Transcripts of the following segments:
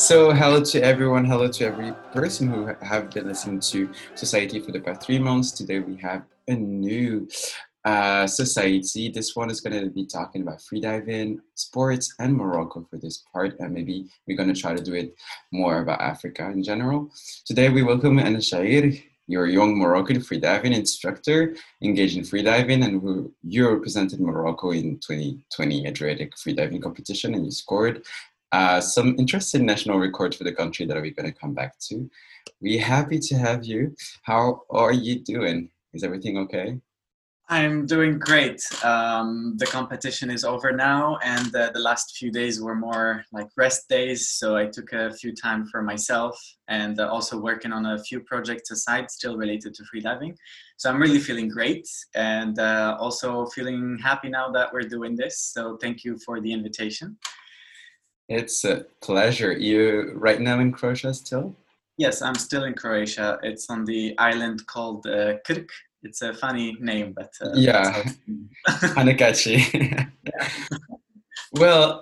So, hello to everyone. Hello to every person who have been listening to Society for the past 3 months. Today we have a new society. This one is going to be talking about freediving, sports, and Morocco for this part. And maybe we're going to try to do it more about Africa in general. Today we welcome Anna Shair, your young Moroccan freediving instructor engaged in freediving, and who you represented Morocco in 2020 Adriatic freediving competition, and you scored some interesting national records for the country that we're going to come back to. We're happy to have you. How are you doing? Is everything okay? I'm doing great. The competition is over now, and the last few days were more like rest days. So I took a few time for myself, and also working on a few projects aside, still related to freediving. So I'm really feeling great, and also feeling happy now that we're doing this. So thank you for the invitation. It's a pleasure. You right now in Croatia still? Yes, I'm still in Croatia. It's on the island called Krk. It's a funny name, but Yeah, kind of catchy. Yeah. Well,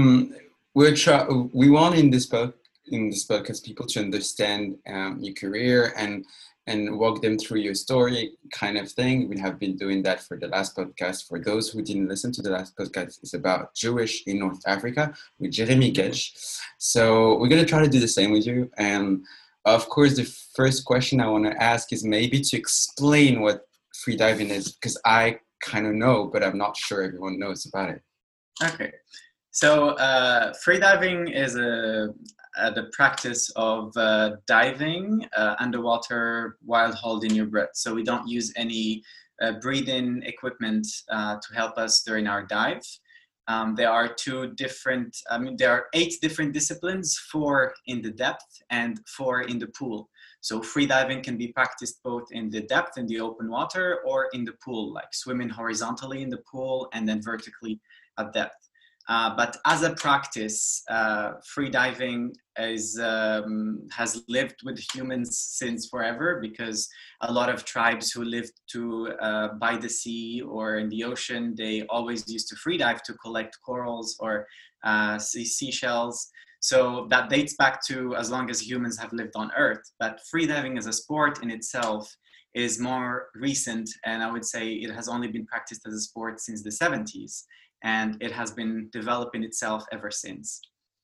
we want in this podcast people to understand your career and walk them through your story, kind of thing. We have been doing that for the last podcast. For those who didn't listen to the last podcast, it's about Jewish in North Africa with Jeremy Getch. So we're gonna try to do the same with you. And of course, the first question I want to ask is maybe to explain what freediving is, because I kind of know, but I'm not sure everyone knows about it. Okay, so freediving is the practice of diving underwater while holding your breath. So we don't use any breathing equipment to help us during our dive. There are there are 8 different disciplines, 4 in the depth and 4 in the pool. So freediving can be practiced both in the depth, in the open water, or in the pool, like swimming horizontally in the pool and then vertically at depth. But as a practice, freediving has lived with humans since forever, because a lot of tribes who lived by the sea or in the ocean, they always used to freedive to collect corals or seashells. So that dates back to as long as humans have lived on Earth. But freediving as a sport in itself is more recent, and I would say it has only been practiced as a sport since the 70s. And it has been developing itself ever since.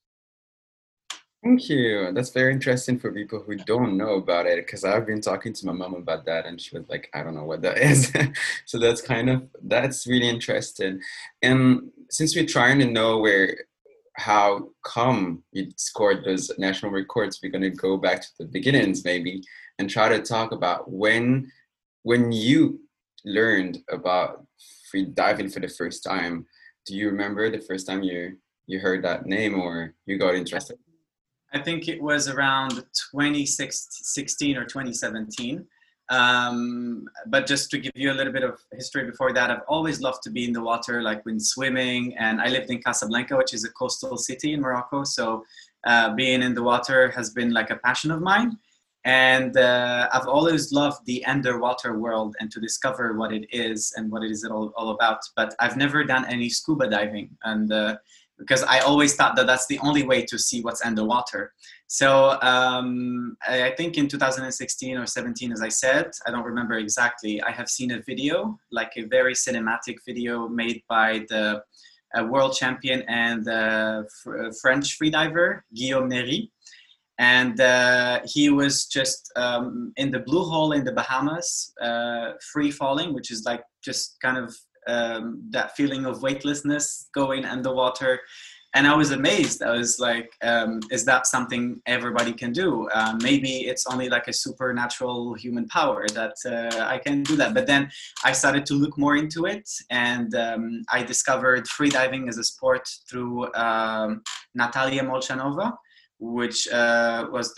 Thank you. That's very interesting for people who don't know about it, because I've been talking to my mom about that and she was like, I don't know what that is. So that's really interesting. And since we're trying to know how come you scored those national records, we're going to go back to the beginnings maybe and try to talk about when you learned about free diving for the first time. Do you remember the first time you heard that name or you got interested? I think it was around 2016 or 2017. But just to give you a little bit of history before that, I've always loved to be in the water, like when swimming. And I lived in Casablanca, which is a coastal city in Morocco. So being in the water has been like a passion of mine. And I've always loved the underwater world and to discover what it is and what it is all about. But I've never done any scuba diving, and because I always thought that that's the only way to see what's underwater. So I think in 2016 or 17, as I said, I don't remember exactly, I have seen a video, like a very cinematic video made by the world champion and French freediver, Guillaume Méry. And he was just in the Blue Hole in the Bahamas, free falling, which is like just kind of that feeling of weightlessness going underwater. And I was amazed. I was like, is that something everybody can do? Maybe it's only like a supernatural human power that I can do that. But then I started to look more into it, and I discovered freediving as a sport through Natalia Molchanova, which was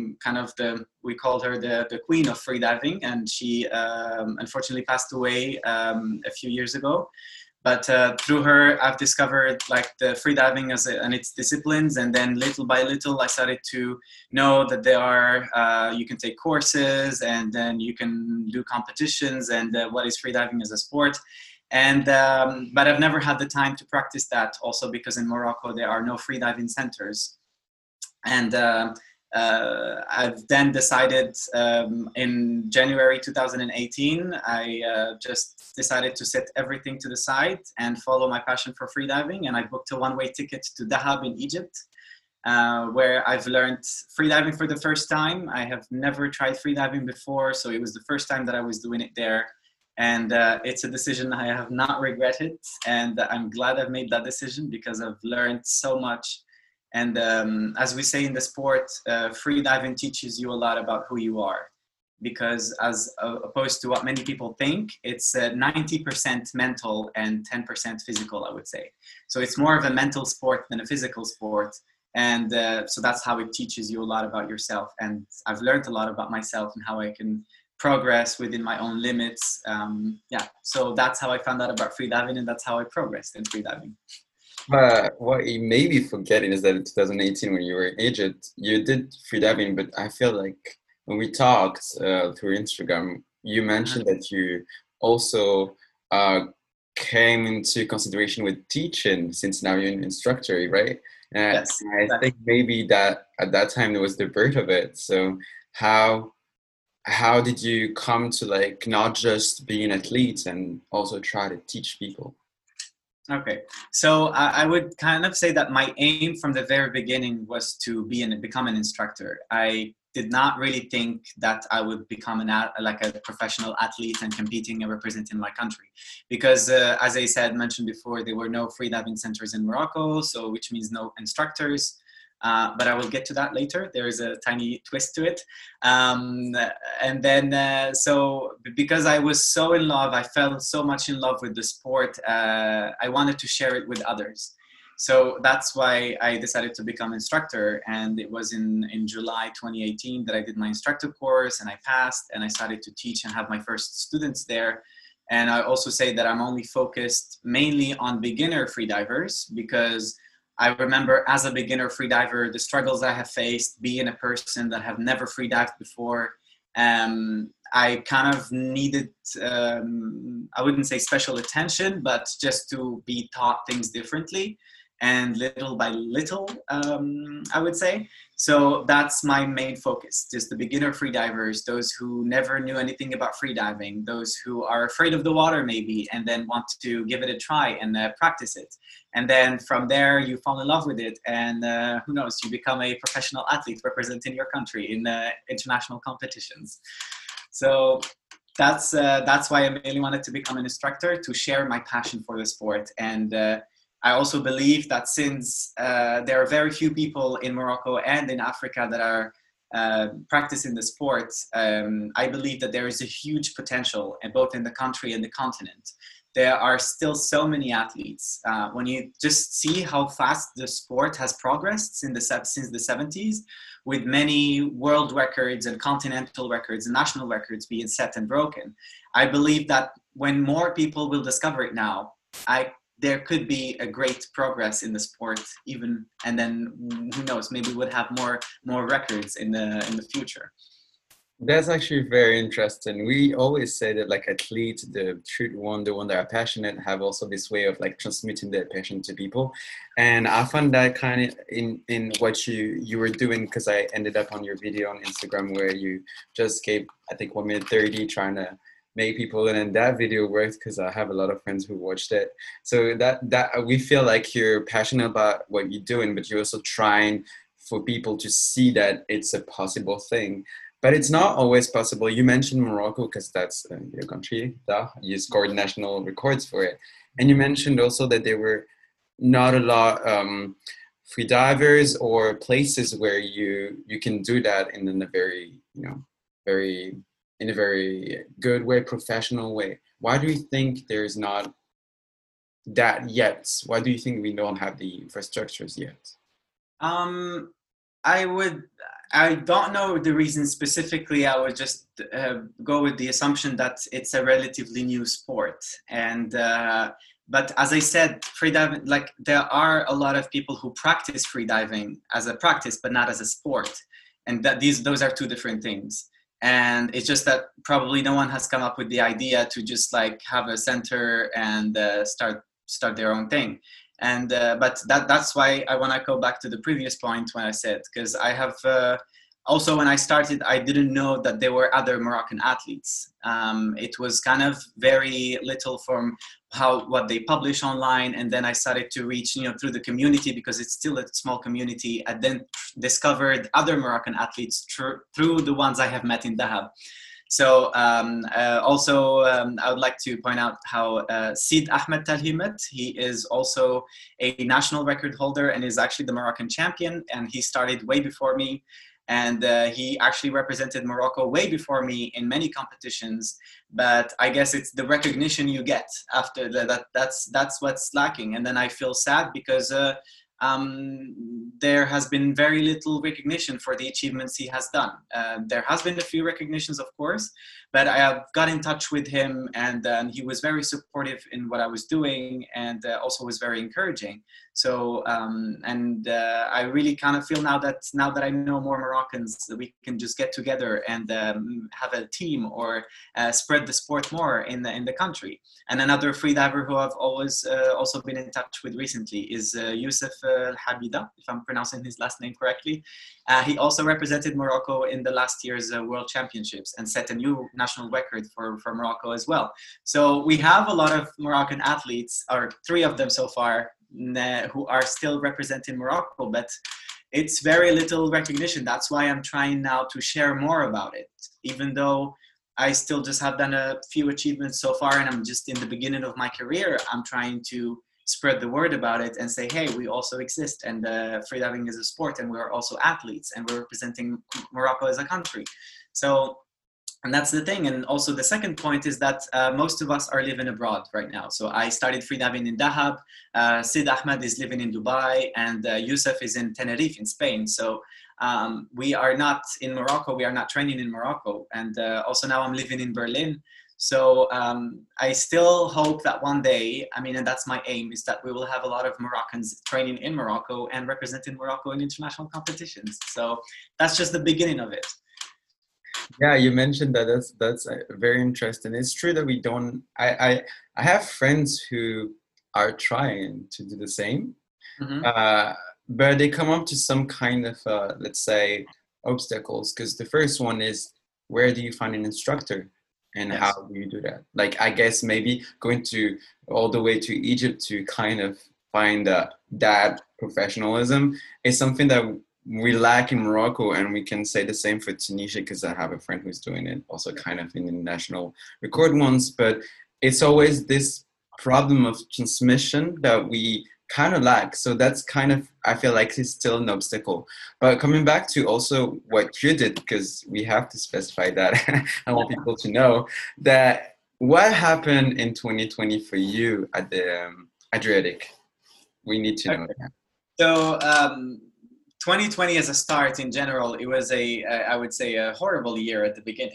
we called her the queen of freediving, and she unfortunately passed away a few years ago. But through her, I've discovered like the freediving and its disciplines, and then little by little, I started to know that there are you can take courses, and then you can do competitions, and what is freediving as a sport. And but I've never had the time to practice that, also because in Morocco there are no freediving centers. And I've then decided in January 2018, I just decided to set everything to the side and follow my passion for freediving. And I booked a one-way ticket to Dahab in Egypt, where I've learned freediving for the first time. I have never tried freediving before, so it was the first time that I was doing it there. And it's a decision I have not regretted. And I'm glad I've made that decision because I've learned so much. And as we say in the sport, freediving teaches you a lot about who you are. Because as opposed to what many people think, it's 90% mental and 10% physical, I would say. So it's more of a mental sport than a physical sport. And so that's how it teaches you a lot about yourself. And I've learned a lot about myself and how I can progress within my own limits. So that's how I found out about freediving, and that's how I progressed in freediving. But what you may be forgetting is that in 2018, when you were in Egypt, you did freediving, but I feel like when we talked through Instagram, you mentioned that you also came into consideration with teaching, since now you're an instructor, right? Yes, I think maybe that at that time there was the birth of it. So how did you come to like not just be an athlete and also try to teach people? Okay, so I would kind of say that my aim from the very beginning was to become an instructor. I did not really think that I would become like a professional athlete and competing and representing my country, because as I mentioned before, there were no freediving centers in Morocco, so which means no instructors. But I will get to that later. There is a tiny twist to it. And then, so because I was so in love, I fell so much in love with the sport, I wanted to share it with others. So that's why I decided to become instructor. And it was in July 2018 that I did my instructor course, and I passed, and I started to teach and have my first students there. And I also say that I'm only focused mainly on beginner freedivers, because I remember as a beginner freediver, the struggles I have faced, being a person that have never freedived before. I kind of needed, I wouldn't say special attention, but just to be taught things differently and little by little, I would say. So that's my main focus, just the beginner freedivers, those who never knew anything about freediving, those who are afraid of the water maybe, and then want to give it a try and practice it. And then from there, you fall in love with it, and who knows, you become a professional athlete representing your country in international competitions. So that's why I mainly wanted to become an instructor, to share my passion for the sport. And I also believe that since there are very few people in Morocco and in Africa that are practicing the sport, I believe that there is a huge potential both in the country and the continent. There are still so many athletes. When you just see how fast the sport has progressed since the 70s, with many world records and continental records and national records being set and broken, I believe that when more people will discover it now, there could be a great progress in the sport even, and then who knows, maybe we'll have more records in the future. That's actually very interesting. We always say that like athletes, the one that are passionate, have also this way of like transmitting their passion to people. And I found that kind of in what you were doing, because I ended up on your video on Instagram where you just gave, I think, 1 minute 30 trying to make people, and then that video worked because I have a lot of friends who watched it. So that we feel like you're passionate about what you're doing, but you're also trying for people to see that it's a possible thing. But it's not always possible. You mentioned Morocco because that's your country. You scored national records for it. And you mentioned also that there were not a lot free divers or places where you can do that in a very, in a very good way, professional way. Why do you think there's not that yet? Why do you think we don't have the infrastructures yet? I don't know the reason specifically. I would just go with the assumption that it's a relatively new sport. And but as I said, freediving, like there are a lot of people who practice freediving as a practice, but not as a sport. And that those are two different things. And it's just that probably no one has come up with the idea to just like have a center and start their own thing. And but that's why I want to go back to the previous point when I said, because I have also, when I started, I didn't know that there were other Moroccan athletes. It was kind of very little from what they publish online, and then I started to reach, through the community, because it's still a small community. I then discovered other Moroccan athletes through the ones I have met in Dahab. So also, I would like to point out how Sid Ahmed Talhimet, he is also a national record holder and is actually the Moroccan champion, and he started way before me. And he actually represented Morocco way before me in many competitions. But I guess it's the recognition you get after that's what's lacking. And then I feel sad because there has been very little recognition for the achievements he has done. There has been a few recognitions, of course, but I have got in touch with him, and he was very supportive in what I was doing, and also was very encouraging. So, I really kind of feel now that I know more Moroccans, that we can just get together and have a team, or spread the sport more in the country. And another freediver who I've always also been in touch with recently is Youssef Habida, if I'm pronouncing his last name correctly. He also represented Morocco in the last year's World Championships and set a new national record for Morocco as well. So we have a lot of Moroccan athletes, or 3 of them so far, who are still representing Morocco, but it's very little recognition. That's why I'm trying now to share more about it, even though I still just have done a few achievements so far, and I'm just in the beginning of my career. I'm trying to spread the word about it and say, hey, we also exist, and freediving is a sport, and we're also athletes, and we're representing Morocco as a country. So, and that's the thing. And also the second point is that most of us are living abroad right now. So I started freediving in Dahab, Sid Ahmed is living in Dubai, and Youssef is in Tenerife in Spain. So we are not in Morocco, we are not training in Morocco. And also now I'm living in Berlin. So I still hope that one day, and that's my aim, is that we will have a lot of Moroccans training in Morocco and representing Morocco in international competitions. So that's just the beginning of it. Yeah, you mentioned that. That's very interesting. It's true that we don't. I have friends who are trying to do the same, but they come up to some kind of let's say obstacles. Because the first one is, where do you find an instructor, and Yes. how do you do that? Like, I guess maybe going to all the way to Egypt to kind of find that professionalism is something that we lack in Morocco, and we can say the same for Tunisia, because I have a friend who's doing it also kind of in the national record ones. But it's always this problem of transmission that we kind of lack. So that's kind of, I feel like it's still an obstacle. But coming back to also what you did, because we have to specify that, I want people to know that what happened in 2020 for you at the Adriatic. We need to know that. So 2020 as a start in general, it was I would say a horrible year at the beginning.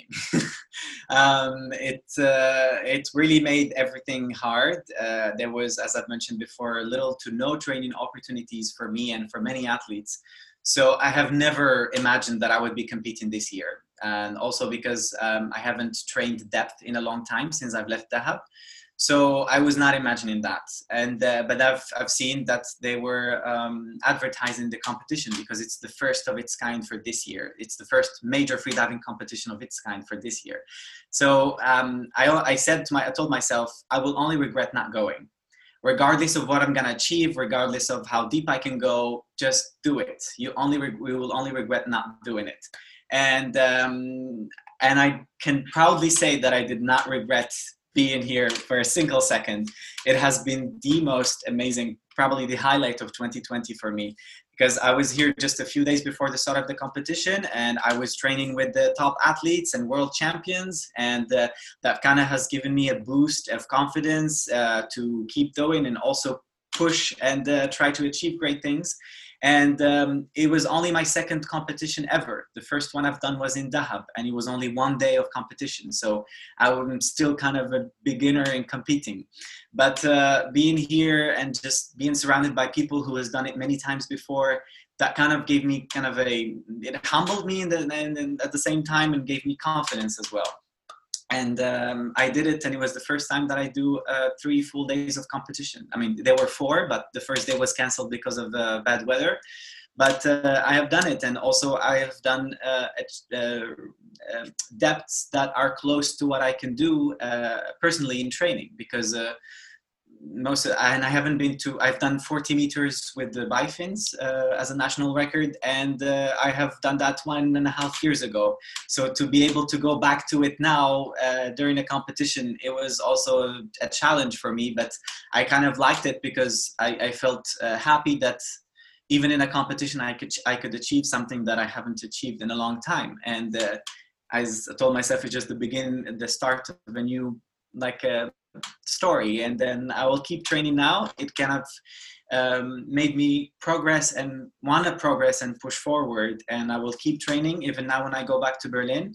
It really made everything hard. There was, as I've mentioned before, little to no training opportunities for me and for many athletes. So I have never imagined that I would be competing this year. And also because I haven't trained depth in a long time since I've left Dahab. So I was not imagining that, and but I've seen that they were advertising the competition because it's the first of its kind for this year. It's the first major freediving competition of its kind for this year. So I told myself I will only regret not going, regardless of what I'm gonna achieve, regardless of how deep I can go. Just do it. We will only regret not doing it, and I can proudly say that I did not regret being here for a single second. It has been the most amazing, probably the highlight of 2020 for me, because I was here just a few days before the start of the competition, and I was training with the top athletes and world champions, and that kind of has given me a boost of confidence to keep going and also push and try to achieve great things. And it was only my second competition ever. The first one I've done was in Dahab, and it was only one day of competition. So I'm still kind of a beginner in competing. But being here and just being surrounded by people who has done it many times before, that kind of gave me it humbled me at the same time, and gave me confidence as well. And I did it, and it was the first time that I do 3 full days of competition. I mean, there were 4, but the first day was canceled because of bad weather. But I have done it, and also I have done depths that are close to what I can do personally in training, because and I haven't been to, I've done 40 meters with the bifins as a national record, and I have done that 1.5 years ago. So to be able to go back to it now during a competition, it was also a challenge for me, but I kind of liked it because I felt happy that even in a competition I could achieve something that I haven't achieved in a long time. And as I told myself, it's just the start of a new story, and then I will keep training now. It kind of made me progress and want to progress and push forward, and I will keep training even now when I go back to Berlin,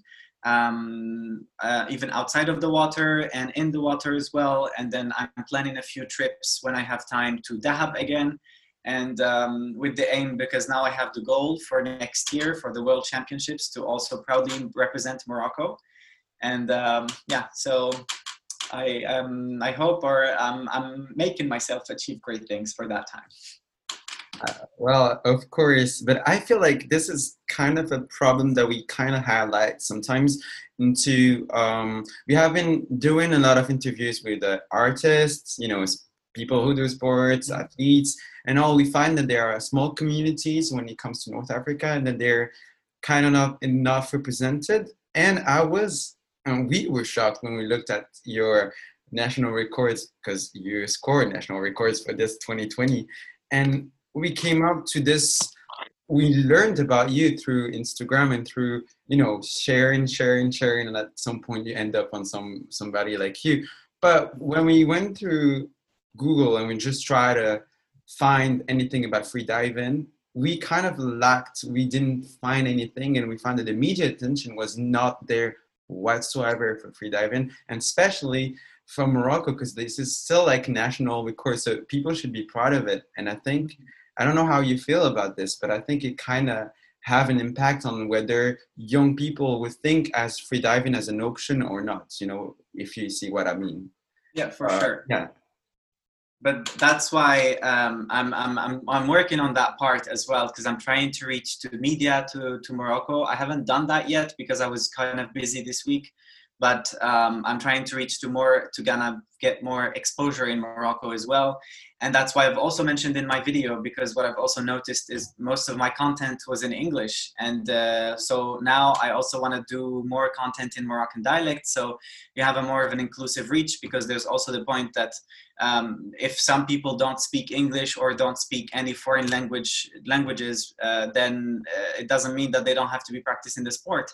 even outside of the water and in the water as well. And then I'm planning a few trips when I have time to Dahab again, and with the aim, because now I have the goal for next year for the World Championships to also proudly represent Morocco. And so I hope, or I'm making myself achieve great things for that time. Well, of course, but I feel like this is kind of a problem that we kind of highlight sometimes into, we have been doing a lot of interviews with artists, people who do sports, athletes, and all. We find that there are small communities when it comes to North Africa, and that they're kind of not enough represented. And we were shocked when we looked at your national records, because you scored national records for this 2020. And we came up to this, we learned about you through Instagram and through, sharing. And at some point you end up on somebody like you. But when we went through Google and we just try to find anything about freediving, we kind of we didn't find anything, and we found that the media attention was not there whatsoever for freediving, and especially from Morocco, because this is still like national record, so people should be proud of it. And I don't know how you feel about this, but I think it kind of have an impact on whether young people would think as freediving as an option or not, if you see what I mean. Yeah, for sure. Yeah. But that's why I'm working on that part as well, because I'm trying to reach to media to Morocco. I haven't done that yet because I was kind of busy this week, but I'm trying to reach to kind of get more exposure in Morocco as well. And that's why I've also mentioned in my video, because what I've also noticed is most of my content was in English. And so now I also want to do more content in Moroccan dialect. So you have a more of an inclusive reach, because there's also the point that if some people don't speak English or don't speak any foreign languages, then it doesn't mean that they don't have to be practicing the sport.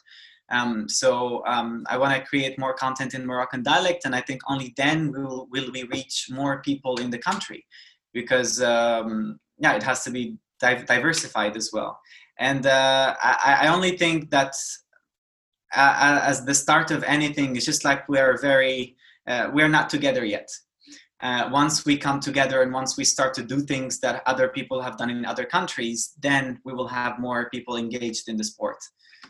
So I want to create more content in Moroccan dialect, and I think only then will we reach more people in the country, because it has to be diversified as well. And I only think that as the start of anything, it's just like we're not together yet. Once we come together and once we start to do things that other people have done in other countries, then we will have more people engaged in the sport.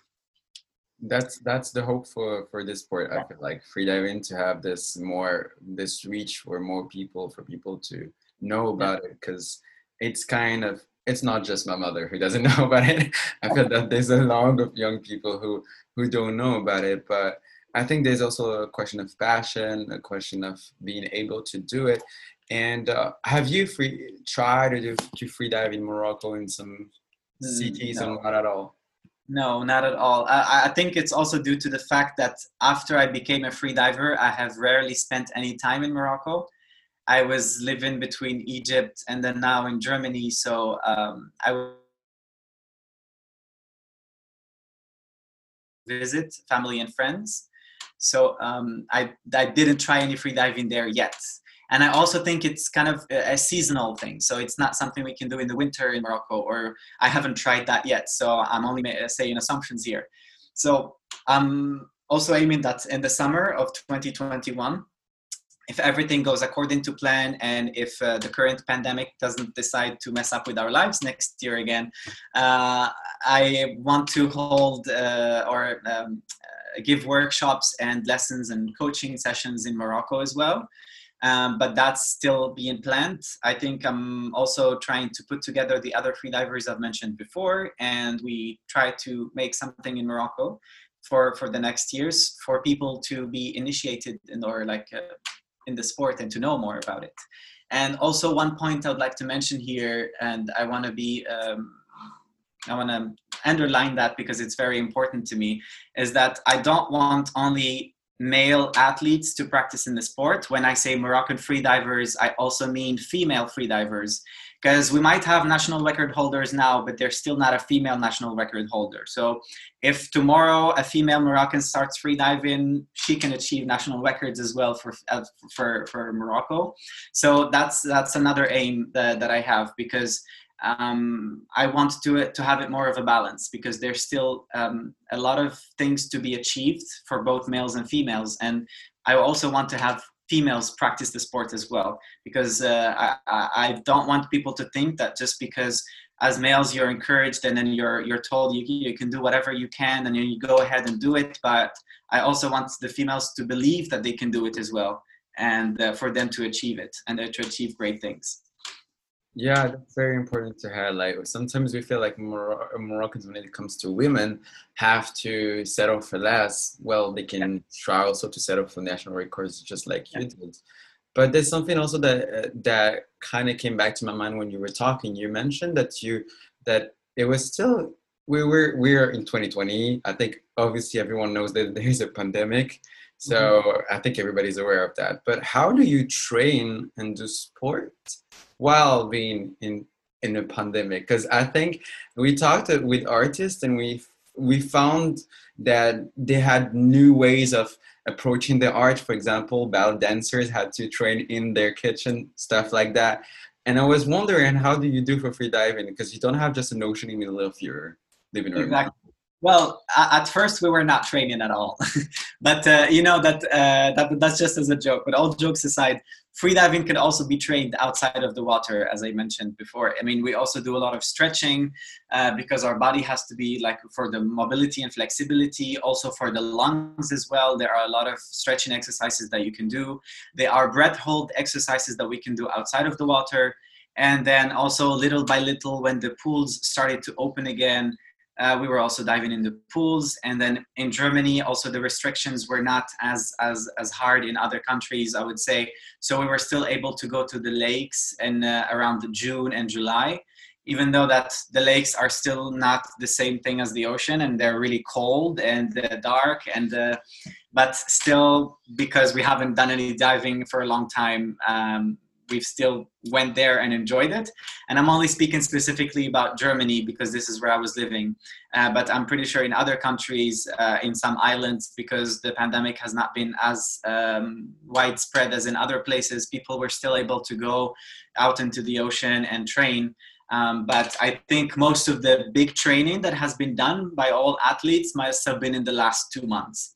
That's the hope for this sport. I feel like freediving to have this reach for more people, for people to know about it, because it's not just my mother who doesn't know about it. I feel that there's a lot of young people who don't know about it, but I think there's also a question of passion, a question of being able to do it. And have you tried to freedive in Morocco in some cities? No. Or not at all? No, not at all. I think it's also due to the fact that after I became a free diver, I have rarely spent any time in Morocco. I was living between Egypt and then now in Germany. So I visit family and friends. So I didn't try any free diving there yet. And I also think it's kind of a seasonal thing. So it's not something we can do in the winter in Morocco, or I haven't tried that yet. So I'm only saying assumptions here. So I'm also aiming that in the summer of 2021, if everything goes according to plan, and if the current pandemic doesn't decide to mess up with our lives next year again, I want to hold or give workshops and lessons and coaching sessions in Morocco as well. But that's still being planned. I think I'm also trying to put together the other freedivers I've mentioned before, and we try to make something in Morocco for the next years for people to be initiated in, or like in the sport, and to know more about it. And also one point I would like to mention here, and I want to be I want to underline that because it's very important to me, is that I don't want only male athletes to practice in the sport. When I say Moroccan freedivers, I also mean female freedivers, because we might have national record holders now, but they're still not a female national record holder. So if tomorrow a female Moroccan starts freediving, she can achieve national records as well for Morocco. So that's another aim that I have, because I want to have it more of a balance, because there's still a lot of things to be achieved for both males and females. And I also want to have females practice the sport as well, because I don't want people to think that just because as males you're encouraged and then you're told you can do whatever you can and you go ahead and do it. But I also want the females to believe that they can do it as well, and for them to achieve it and to achieve great things. Yeah, that's very important to highlight. Sometimes we feel like Moroccans, when it comes to women, have to settle for less. Well, they can try also to settle for national records, just like you did. But there's something also that kind of came back to my mind when you were talking. You mentioned that it was still we're in 2020. I think obviously everyone knows that there's a pandemic, so I think everybody's aware of that. But how do you train and do sport while being in a pandemic? Because I think we talked with artists, and we found that they had new ways of approaching the art. For example, ballet dancers had to train in their kitchen, stuff like that. And I was wondering, how do you do for free diving? Because you don't have just an ocean in the middle of your living room. Exactly. Well, at first we were not training at all, but that's just as a joke. But all jokes aside, freediving can also be trained outside of the water, as I mentioned before. I mean, we also do a lot of stretching because our body has to be like for the mobility and flexibility, also for the lungs as well. There are a lot of stretching exercises that you can do. There are breath hold exercises that we can do outside of the water. And then also little by little, when the pools started to open again, we were also diving in the pools. And then in Germany, also the restrictions were not as hard in other countries, I would say. So we were still able to go to the lakes in around June and July, even though that the lakes are still not the same thing as the ocean, and they're really cold and dark. But still, because we haven't done any diving for a long time, we've still went there and enjoyed it. And I'm only speaking specifically about Germany because this is where I was living. But I'm pretty sure in other countries, in some islands, because the pandemic has not been as widespread as in other places, people were still able to go out into the ocean and train. But I think most of the big training that has been done by all athletes must have been in the last 2 months.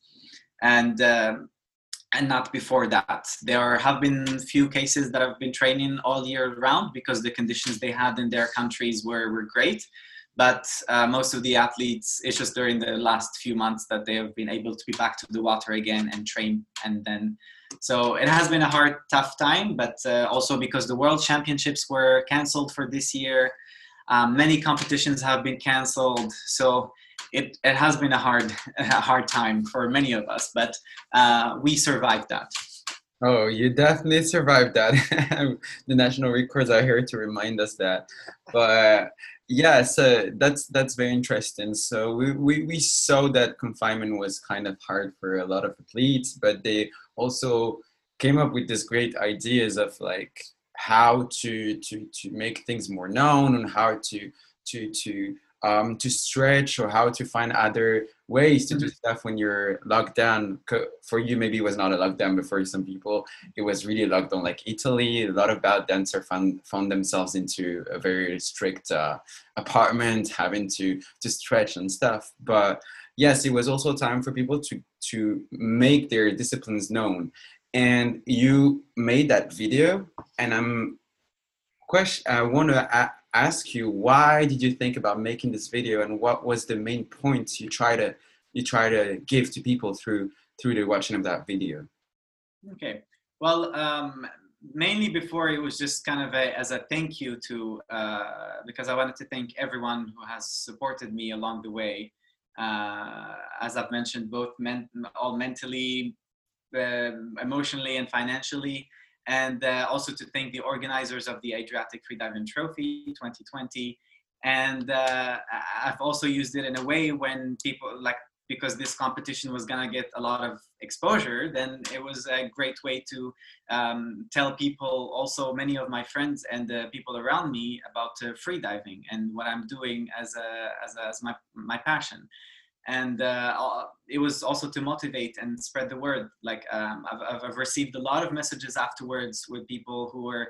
And not before that. There have been few cases that have been training all year round because the conditions they had in their countries were great. But most of the athletes, it's just during the last few months that they have been able to be back to the water again and train. And then, so it has been a hard, tough time, but also because the World Championships were canceled for this year. Many competitions have been canceled. So it has been a hard time for many of us, but we survived that. Oh, you definitely survived that. The national records are here to remind us that. But yeah, so that's very interesting. So we saw that confinement was kind of hard for a lot of athletes, but they also came up with these great ideas of like how to make things more known, and how to stretch, or how to find other ways to do stuff when you're locked down. For you, maybe it was not a lockdown, but for some people, it was really locked down. Like Italy, a lot of ballet dancers found themselves into a very strict apartment, having to stretch and stuff. But yes, it was also time for people to make their disciplines known. and you made that video, and I want to ask you, why did you think about making this video, and what was the main points you try to give to people through the watching of that video? Okay. Well, mainly before it was just kind of as a thank you to, because I wanted to thank everyone who has supported me along the way. As I've mentioned, both all mentally, emotionally, and financially, and also to thank the organizers of the Adriatic Freediving Trophy 2020. And I've also used it in a way when people like, because this competition was gonna get a lot of exposure, then it was a great way to tell people, also many of my friends and the people around me, about freediving and what I'm doing as my passion. And it was also to motivate and spread the word. Like I've received a lot of messages afterwards with people who were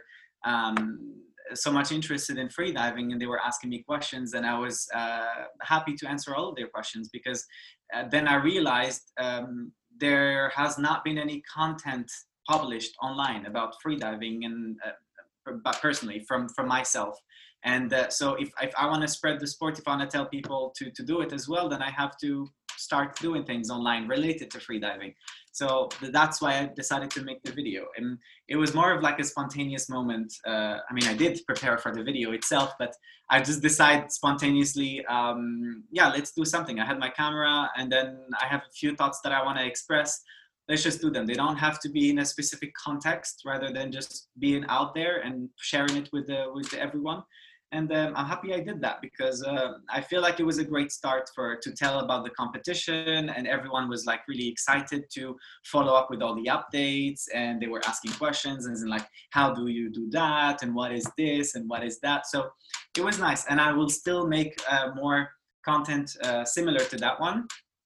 so much interested in freediving, and they were asking me questions, and I was happy to answer all of their questions, because then I realized there has not been any content published online about freediving, and but personally from myself. And so if I want to spread the sport, if I want to tell people to do it as well, then I have to start doing things online related to freediving. So that's why I decided to make the video. And it was more of like a spontaneous moment. I mean, I did prepare for the video itself, but I just decided spontaneously, yeah, let's do something. I had my camera, and then I have a few thoughts that I want to express. Let's just do them. They don't have to be in a specific context, rather than just being out there and sharing it with everyone. And I'm happy I did that, because I feel like it was a great start to tell about the competition, and everyone was like really excited to follow up with all the updates, and they were asking questions and like, how do you do that, and what is this, and what is that. So it was nice, and I will still make more content similar to that one.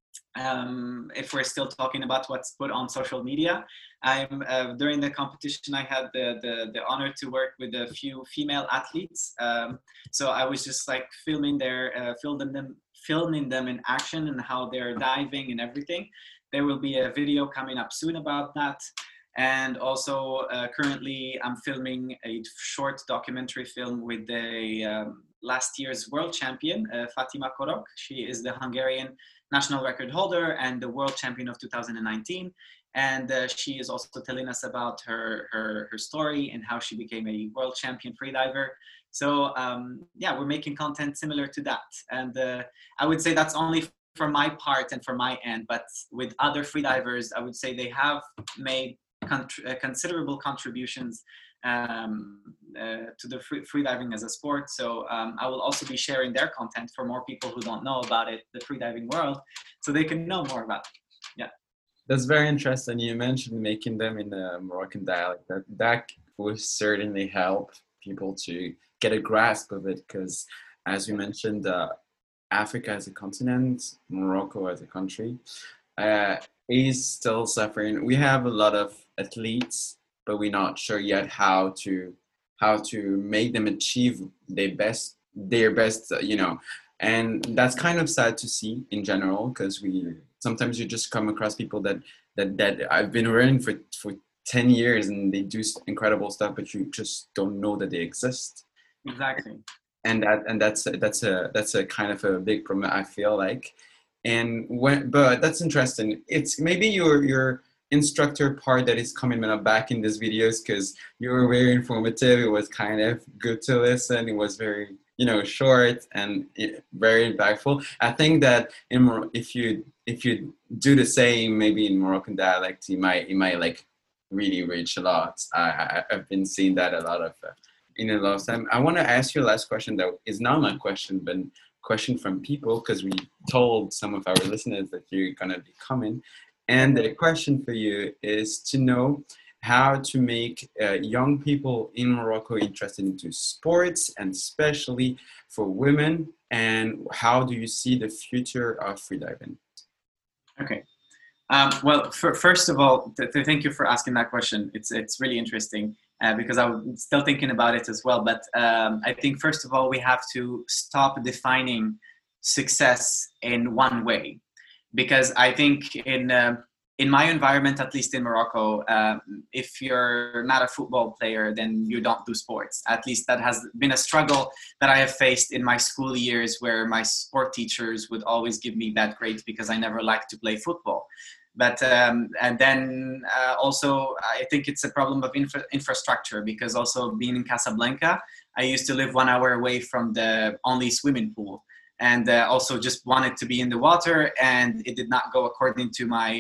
If we're still talking about what's put on social media, I'm during the competition, I had the honor to work with a few female athletes. So I was just like filming them in action, and how they're diving and everything. There will be a video coming up soon about that. And also currently I'm filming a short documentary film with the last year's world champion, Fatima Korok. She is the Hungarian national record holder and the world champion of 2019. And she is also telling us about her story and how she became a world champion freediver. So yeah, we're making content similar to that. And I would say that's only for my part and for my end, but with other freedivers, I would say they have made considerable contributions to the freediving as a sport. So I will also be sharing their content for more people who don't know about it, the freediving world, so they can know more about it. Yeah. That's very interesting. You mentioned making them in the Moroccan dialect. That will certainly help people to get a grasp of it, because as we mentioned, Africa as a continent, Morocco as a country, is still suffering. We have a lot of athletes, but we're not sure yet how to make them achieve their best, and that's kind of sad to see in general, because sometimes you just come across people that I've been running for 10 years, and they do incredible stuff, but you just don't know that they exist. Exactly. And that's a kind of a big problem, I feel like. But that's interesting. It's maybe your instructor part that is coming back in these videos, because you were very informative. It was kind of good to listen. It was very short and very impactful. I think that if you do the same, maybe in Moroccan dialect, you might like really reach a lot. I've been seeing that a lot of time. I want to ask you a last question that is not my question, but question from people, because we told some of our listeners that you're gonna be coming, and the question for you is to know how to make young people in Morocco interested into sports, and especially for women, and how do you see the future of freediving? Okay. Well, first of all, thank you for asking that question. It's really interesting because I was still thinking about it as well. But I think first of all, we have to stop defining success in one way, because I think in in my environment, at least in Morocco, if you're not a football player, then you don't do sports. At least that has been a struggle that I have faced in my school years, where my sport teachers would always give me bad grades because I never liked to play football. But and then also, I think it's a problem of infrastructure, because also being in Casablanca, I used to live 1 hour away from the only swimming pool, and also just wanted to be in the water, and it did not go according to my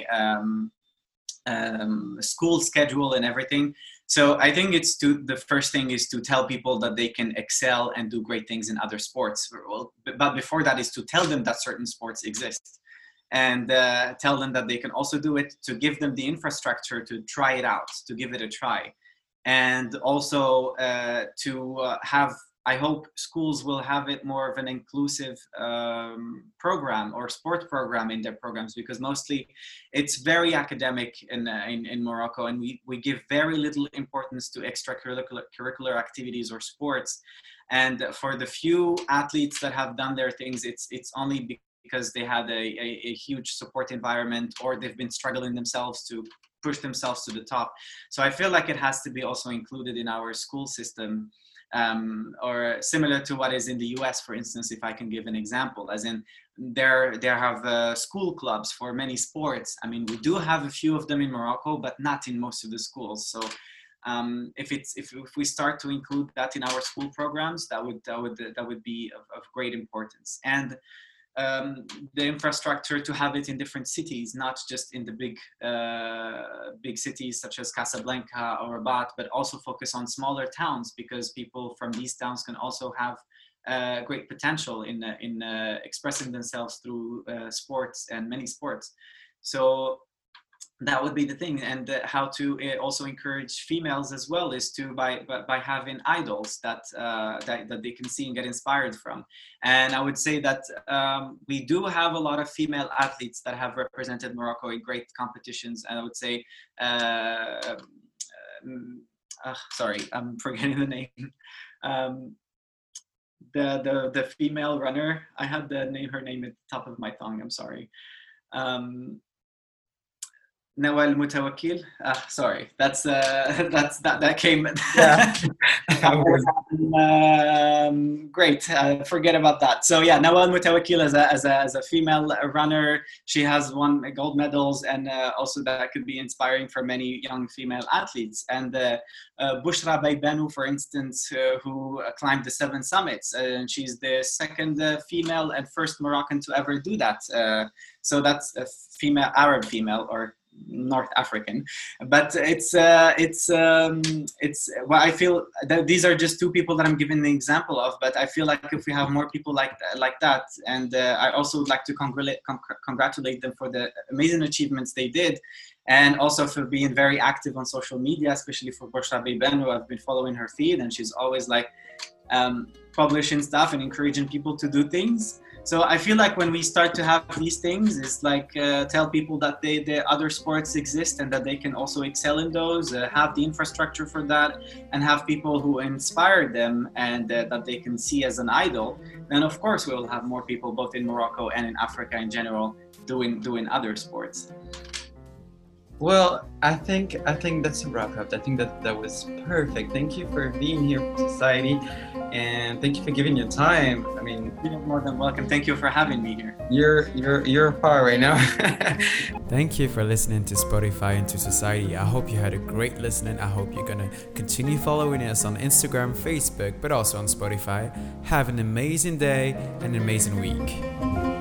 school schedule and everything. So I think the first thing is to tell people that they can excel and do great things in other sports. But before that is to tell them that certain sports exist, and tell them that they can also do it, to give them the infrastructure to try it out, to give it a try. And also to have, I hope schools will have it more of an inclusive program or sport program in their programs, because mostly it's very academic in Morocco, and we give very little importance to extracurricular activities or sports. And for the few athletes that have done their things, it's only because they had a huge support environment, or they've been struggling themselves to push themselves to the top. So I feel like it has to be also included in our school system, or similar to what is in the US, for instance, if I can give an example, as in there have school clubs for many sports. I mean, we do have a few of them in Morocco, but not in most of the schools. So if we start to include that in our school programs, that would be of great importance. And the infrastructure to have it in different cities, not just in the big cities such as Casablanca or Rabat, but also focus on smaller towns, because people from these towns can also have great potential in expressing themselves through sports and many sports. So that would be the thing. And how to also encourage females as well is to by having idols that they can see and get inspired from. And I would say that we do have a lot of female athletes that have represented Morocco in great competitions. And I would say sorry, I'm forgetting the name. The female runner, I had her name at the top of my tongue, I'm sorry. Nawal Mutawakkil. Sorry, that came. Yeah. Great. Forget about that. So yeah, Nawal Mutawakkil as a female runner, she has won gold medals, and also that could be inspiring for many young female athletes. And Bushra Baybanu, for instance, who climbed the 7 summits, and she's the second female and first Moroccan to ever do that. So that's a female, Arab female, or North African, but it's well, I feel that these are just 2 people that I'm giving the example of, but I feel like if we have more people like that, and I also would like to congratulate them for the amazing achievements they did, and also for being very active on social media, especially for Bushra Baybanu. I've been following her feed, and she's always like publishing stuff and encouraging people to do things. So I feel like when we start to have these things, it's like tell people that the other sports exist and that they can also excel in those, have the infrastructure for that, and have people who inspire them and that they can see as an idol. Then of course we will have more people both in Morocco and in Africa in general doing other sports. Well, I think that's a wrap up. I think that was perfect. Thank you for being here for Society, and thank you for giving your time. I mean, you're more than welcome. Thank you for having me here. You're far right now. Thank you for listening to Spotify and to Society. I hope you had a great listening. I hope you're gonna continue following us on Instagram, Facebook, but also on Spotify. Have an amazing day and an amazing week.